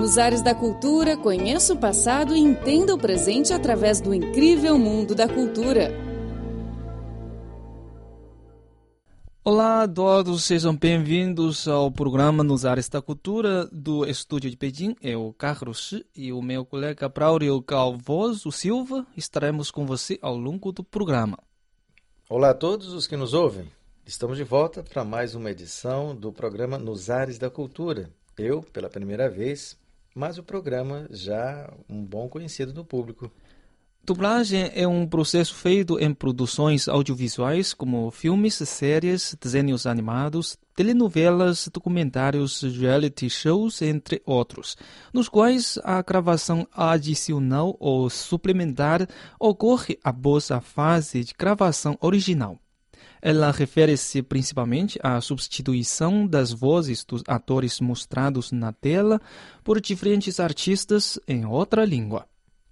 Nos Ares da Cultura, conheça o passado e entenda o presente através do incrível mundo da cultura. Olá a todos, sejam bem-vindos ao programa Nos Ares da Cultura do Estúdio de Pequim. Eu, Carlos Shi, e o meu colega Braulio Calvoso Silva estaremos com você ao longo do programa. Olá a todos os que nos ouvem. Estamos de volta para mais uma edição do programa Nos Ares da Cultura. Eu, pela primeira vez, mas o programa já um bom conhecido do público. Dublagem é um processo feito em produções audiovisuais como filmes, séries, desenhos animados, telenovelas, documentários, reality shows, entre outros, nos quais a gravação adicional ou suplementar ocorre após a fase de gravação original. Ela refere-se principalmente à substituição das vozes dos atores mostrados na tela por diferentes artistas em outra língua.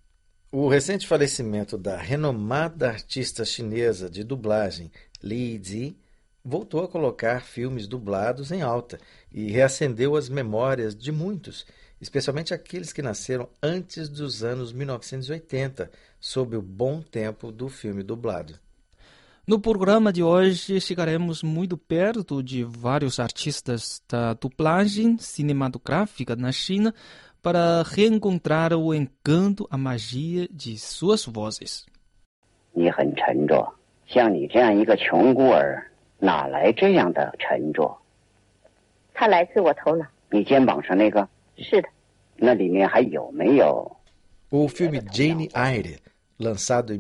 O recente falecimento da renomada artista chinesa de dublagem, Li Zi, voltou a colocar filmes dublados em alta e reacendeu as memórias de muitos, especialmente aqueles que nasceram antes dos anos 1980, sob o bom tempo do filme dublado. No programa de hoje, chegaremos muito perto de vários artistas da dublagem cinematográfica na China para reencontrar o encanto, a magia de suas vozes. 你很沉着，像你这样一个穷孤儿，哪来这样的沉着？ 他来自我头脑。 你肩膀上那个？ 是的。 那里面还有没有？ O filme Jane Eyre, lançado em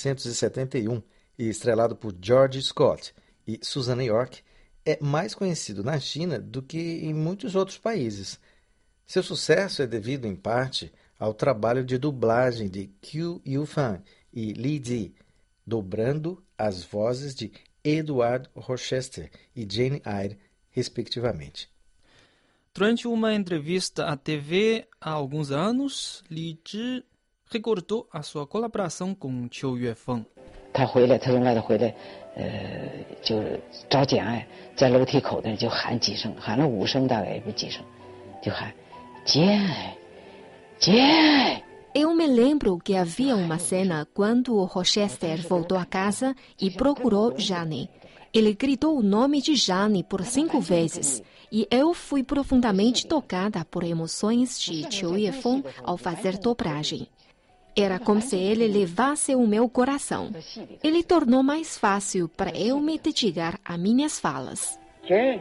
1971 e estrelado por George Scott e Susanna York, é mais conhecido na China do que em muitos outros países. Seu sucesso é devido, em parte, ao trabalho de dublagem de Qiu Yufan e Li Zi, dobrando as vozes de Edward Rochester e Jane Eyre, respectivamente. Durante uma entrevista à TV há alguns anos, Li Zi recordou a sua colaboração com Qiu Yufan. 他回来，他从外头回来，就找简爱，在楼梯口那就喊几声，喊了5声，大概也不几声，就喊简爱，简爱。 Eu me lembro que havia uma cena quando o Rochester voltou a casa e procurou Jane. Ele gritou o nome de Jane por 5 vezes e eu fui profundamente tocada por emoções de Qiu Yufan ao fazer dobragem. Era como se ele levasse o meu coração. Ele tornou mais fácil para eu me dedicar a minhas falas. Jane,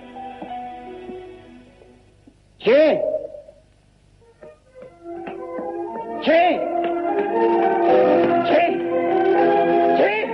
Jane, Jane, Jane, Jane,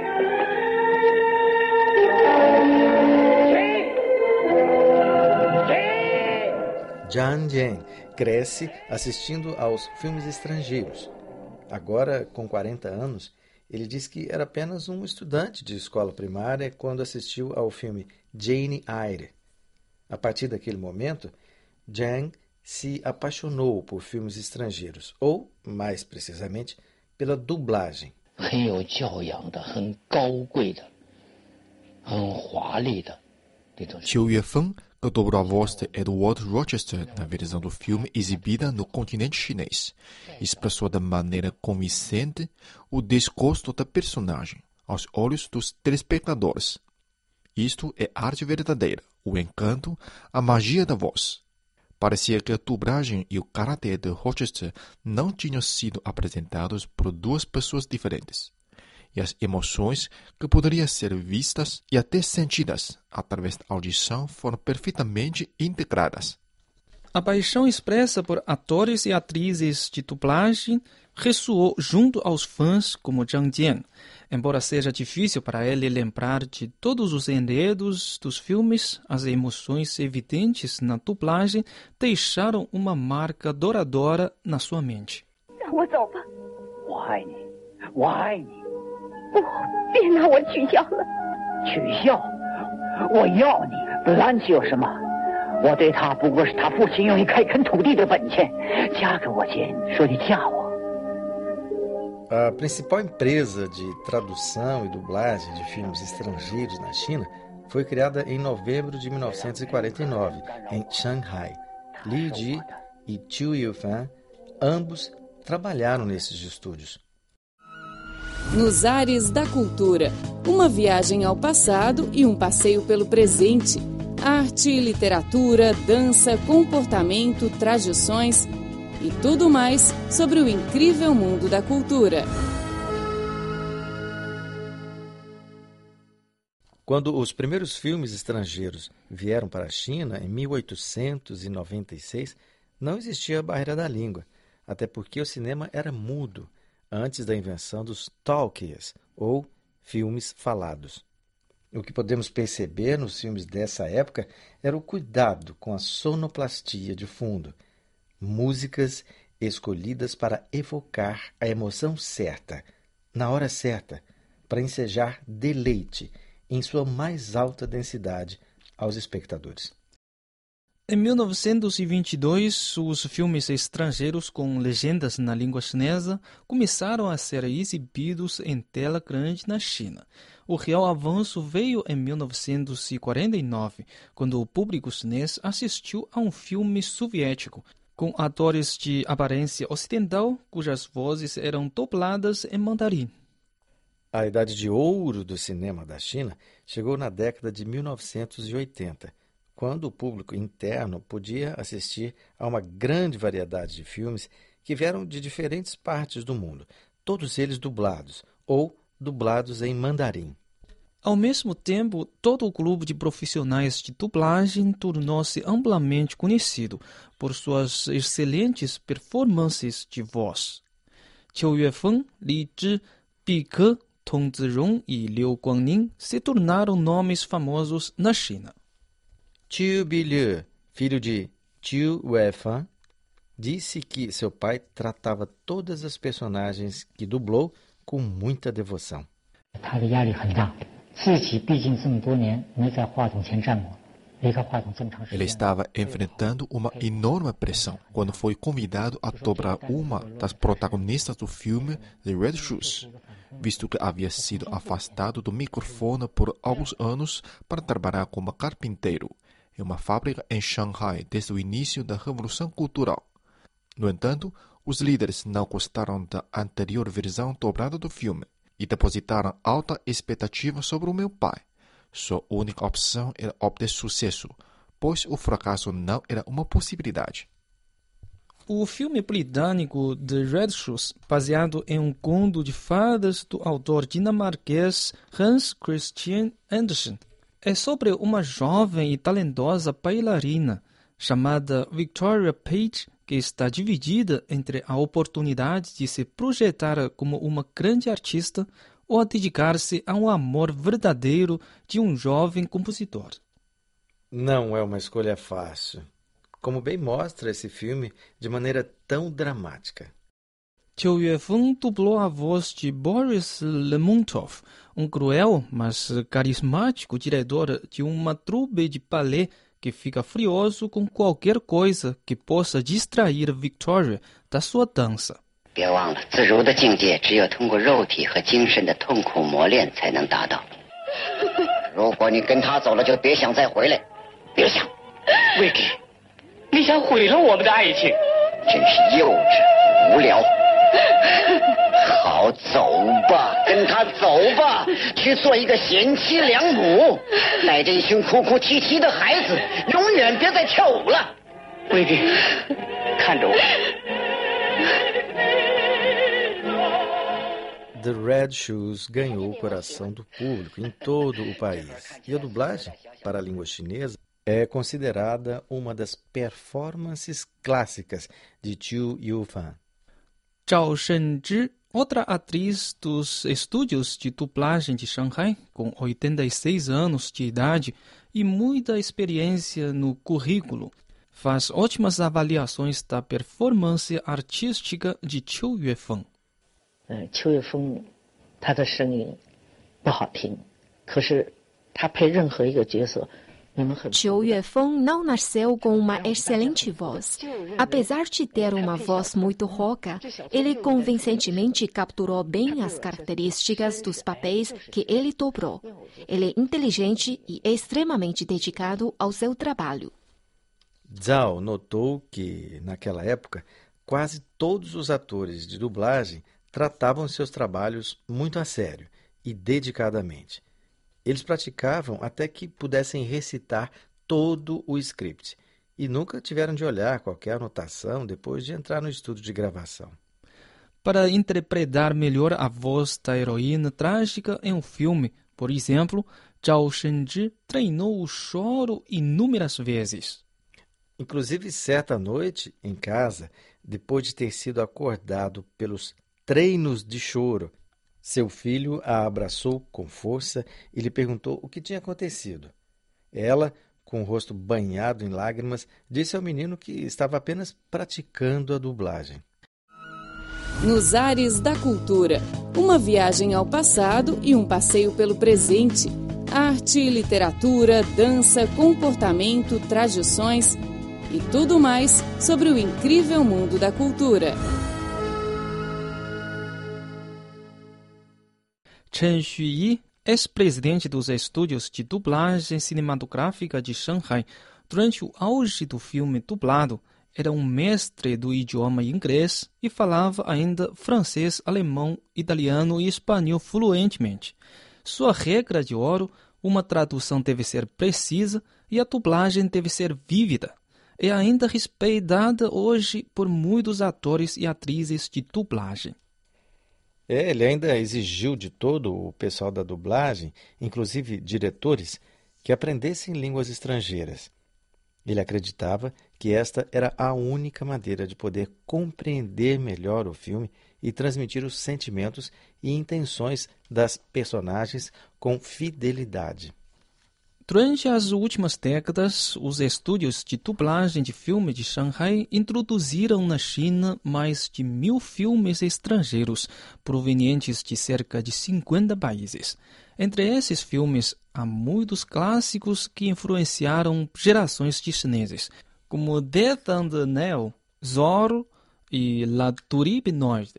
Jane. Jian Jian cresce assistindo aos filmes estrangeiros. Agora, com 40 anos, ele diz que era apenas um estudante de escola primária quando assistiu ao filme Jane Eyre. A partir daquele momento, Jiang se apaixonou por filmes estrangeiros, ou, mais precisamente, pela dublagem. 很有教养的，很高贵的，很华丽的那种。 Qiu Yufan, que dobrou a voz de Edward Rochester na versão do filme exibida no continente chinês, expressou de maneira convincente o desgosto da personagem aos olhos dos telespectadores. Isto é arte verdadeira, o encanto, a magia da voz. Parecia que a dublagem e o caráter de Rochester não tinham sido apresentados por duas pessoas diferentes. E as emoções que poderiam ser vistas e até sentidas através da audição foram perfeitamente integradas. A paixão expressa por atores e atrizes de dublagem ressoou junto aos fãs como Zhang Jian. Embora seja difícil para ele lembrar de todos os enredos dos filmes, as emoções evidentes na dublagem deixaram uma marca duradoura na sua mente. 让我走吧。 我爱你，我爱你。 不，别拿我取笑了。 取笑？我要你，拦起有什么？我对他不过是他父亲用一开垦土地的本钱。嫁给我钱，说你嫁我。 A principal empresa de tradução e dublagem de filmes estrangeiros na China foi criada em novembro de 1949, em Shanghai. Li Ji e Chiu Yue-fan, ambos trabalharam nesses estúdios. Nos Ares da Cultura, uma viagem ao passado e um passeio pelo presente. Arte, literatura, dança, comportamento, tradições e tudo mais sobre o incrível mundo da cultura. Quando os primeiros filmes estrangeiros vieram para a China, em 1896, não existia a barreira da língua, até porque o cinema era mudo, antes da invenção dos talkies, ou filmes falados. O que podemos perceber nos filmes dessa época era o cuidado com a sonoplastia de fundo, músicas escolhidas para evocar a emoção certa, na hora certa, para ensejar deleite em sua mais alta densidade aos espectadores. Em 1922, os filmes estrangeiros com legendas na língua chinesa começaram a ser exibidos em tela grande na China. O real avanço veio em 1949, quando o público chinês assistiu a um filme soviético, com atores de aparência ocidental, cujas vozes eram dubladas em mandarim. A idade de ouro do cinema da China chegou na década de 1980, quando o público interno podia assistir a uma grande variedade de filmes que vieram de diferentes partes do mundo, todos eles dublados ou dublados em mandarim. Ao mesmo tempo, todo o clube de profissionais de dublagem tornou-se amplamente conhecido por suas excelentes performances de voz. Chiu Yue-fan, Li Zhi, Bi Ke, Tong Zirong e Liu Guangning se tornaram nomes famosos na China. Chiu Bi-liu, filho de Chiu Yue-fan, disse que seu pai tratava todas as personagens que dublou com muita devoção. Ele estava enfrentando uma enorme pressão quando foi convidado a dobrar uma das protagonistas do filme The Red Shoes, visto que havia sido afastado do microfone por alguns anos para trabalhar como carpinteiro em uma fábrica em Shanghai desde o início da Revolução Cultural. No entanto, os líderes não gostaram da anterior versão dobrada do filme e depositaram alta expectativa sobre o meu pai. Sua única opção era obter sucesso, pois o fracasso não era uma possibilidade. O filme britânico The Red Shoes, baseado em um conto de fadas do autor dinamarquês Hans Christian Andersen, é sobre uma jovem e talentosa bailarina chamada Victoria Page, que está dividida entre a oportunidade de se projetar como uma grande artista ou a dedicar-se a um amor verdadeiro de um jovem compositor. Não é uma escolha fácil, como bem mostra esse filme de maneira tão dramática. Chiu Yue-fan dublou a voz de Boris Lermontov, um cruel, mas carismático diretor de uma trupe de balé que fica furioso com qualquer coisa que possa distrair Victoria da sua dança. 别忘了，自如的境界只有通过肉体和精神的痛苦磨练才能达到。如果你跟他走了，就别想再回来，别想。 魏给，你想毁了我们的爱情？ 真是幼稚无聊。好，走吧，跟他走吧，去做一个贤妻良母，带着一群哭哭啼啼的孩子，永远别再跳舞了。 魏给，看着我。 The Red Shoes ganhou o coração do público em todo o país. E a dublagem para a língua chinesa é considerada uma das performances clássicas de Chiu Yue-fan. Zhao Shenzhi, outra atriz dos estúdios de dublagem de Shanghai, com 86 anos de idade e muita experiência no currículo, faz ótimas avaliações da performance artística de Chiu Yue-fan. 邱岳峰他的声音不好听，可是他配任何一个角色，你们很。 Chiu Yue-fan não nasceu com uma excelente voz. Apesar de ter uma voz muito rouca, ele convincentemente capturou bem as características dos papéis que ele dobrou. Ele é inteligente e extremamente dedicado ao seu trabalho. Zhao notou que, naquela época, quase todos os atores de dublagem tratavam seus trabalhos muito a sério e dedicadamente. Eles praticavam até que pudessem recitar todo o script e nunca tiveram de olhar qualquer anotação depois de entrar no estúdio de gravação. Para interpretar melhor a voz da heroína trágica em um filme, por exemplo, Zhao Shenji treinou o choro inúmeras vezes. Inclusive, certa noite, em casa, depois de ter sido acordado pelos treinos de choro, seu filho a abraçou com força e lhe perguntou o que tinha acontecido. Ela, com o rosto banhado em lágrimas, disse ao menino que estava apenas praticando a dublagem. Nos Ares da Cultura, uma viagem ao passado e um passeio pelo presente. Arte, literatura, dança, comportamento, tradições e tudo mais sobre o incrível mundo da cultura. Chen Xuyi, ex-presidente dos estúdios de dublagem cinematográfica de Shanghai, durante o auge do filme dublado, era um mestre do idioma inglês e falava ainda francês, alemão, italiano e espanhol fluentemente. Sua regra de ouro, uma tradução deve ser precisa e a dublagem deve ser vívida. É ainda respeitada hoje por muitos atores e atrizes de dublagem. Ele ainda exigiu de todo o pessoal da dublagem, inclusive diretores, que aprendessem línguas estrangeiras. Ele acreditava que esta era a única maneira de poder compreender melhor o filme e transmitir os sentimentos e intenções das personagens com fidelidade. Durante as últimas décadas, os estúdios de dublagem de filme de Shanghai introduziram na China mais de 1.000 filmes estrangeiros, provenientes de cerca de 50 países. Entre esses filmes, há muitos clássicos que influenciaram gerações de chineses, como Death on the Nile, Zorro e La Touriste Noire.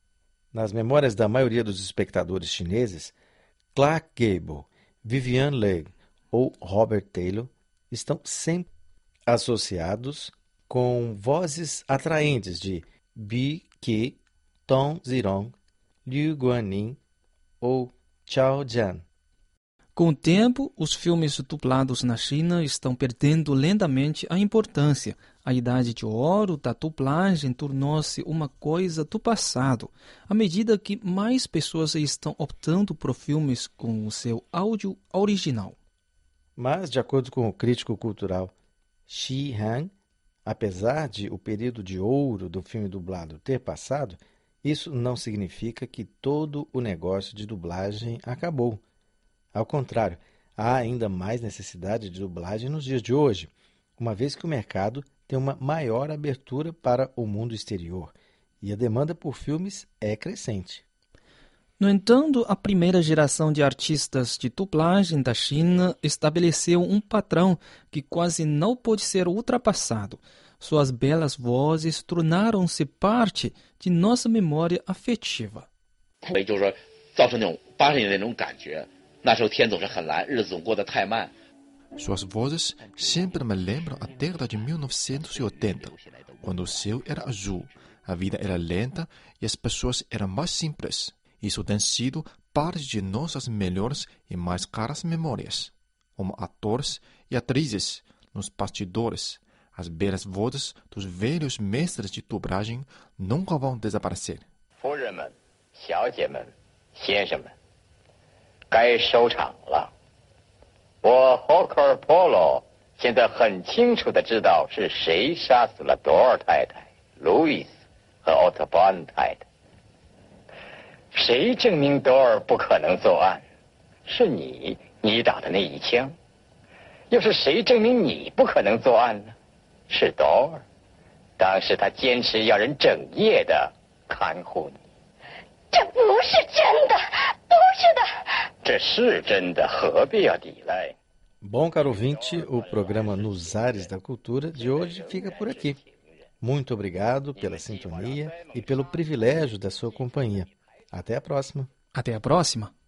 Nas memórias da maioria dos espectadores chineses, Clark Gable, Vivien Leigh ou Robert Taylor estão sempre associados com vozes atraentes de Bi Qi, Tong Zirong, Liu Guanyin ou Chao Jian. Com o tempo, os filmes dublados na China estão perdendo lentamente a importância. A idade de ouro da dublagem tornou-se uma coisa do passado, à medida que mais pessoas estão optando por filmes com o seu áudio original. Mas, de acordo com o crítico cultural Xi Han, apesar de o período de ouro do filme dublado ter passado, isso não significa que todo o negócio de dublagem acabou. Ao contrário, há ainda mais necessidade de dublagem nos dias de hoje, uma vez que o mercado tem uma maior abertura para o mundo exterior e a demanda por filmes é crescente. No entanto, a primeira geração de artistas de dublagem da China estabeleceu um padrão que quase não pode ser ultrapassado. Suas belas vozes tornaram-se parte de nossa memória afetiva. Suas vozes sempre me lembram a década de 1980, quando o céu era azul, a vida era lenta e as pessoas eram mais simples. Isso tem sido parte de nossas melhores e mais caras memórias. Como atores e atrizes, nos bastidores, as belas vozes dos velhos mestres de dublagem nunca vão desaparecer. 夫人们、小姐们、先生们，该收场了。我 Hawker Polo 现在很清楚地知道是谁杀死了朵尔太太、路易斯和奥特班太太。谁证明朵尔不可能作案？是你打的那一枪。又是谁证明你不可能作案呢？是朵尔。当时他坚持要人整夜的看护你。 这不是真的，不是的。 这是真的，何必要抵赖？ Bom, caro ouvinte, o programa Nos Ares da Cultura de hoje fica por aqui. Muito obrigado pela sintonia e pelo privilégio da sua companhia. Até a próxima. Até a próxima.